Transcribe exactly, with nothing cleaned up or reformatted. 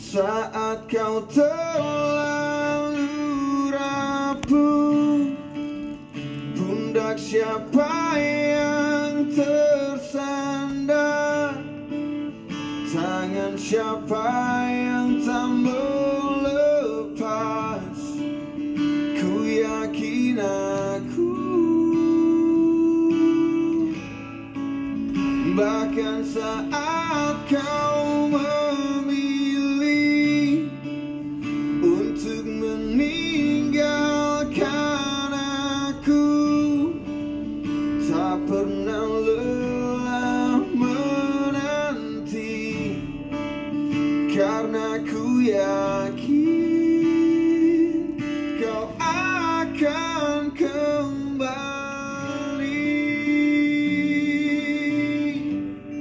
Saat kau terlalu rapuh, pundak siapa yang tersandar? Tangan siapa yang tak melepas? Ku yakin aku, bahkan saat kau memilih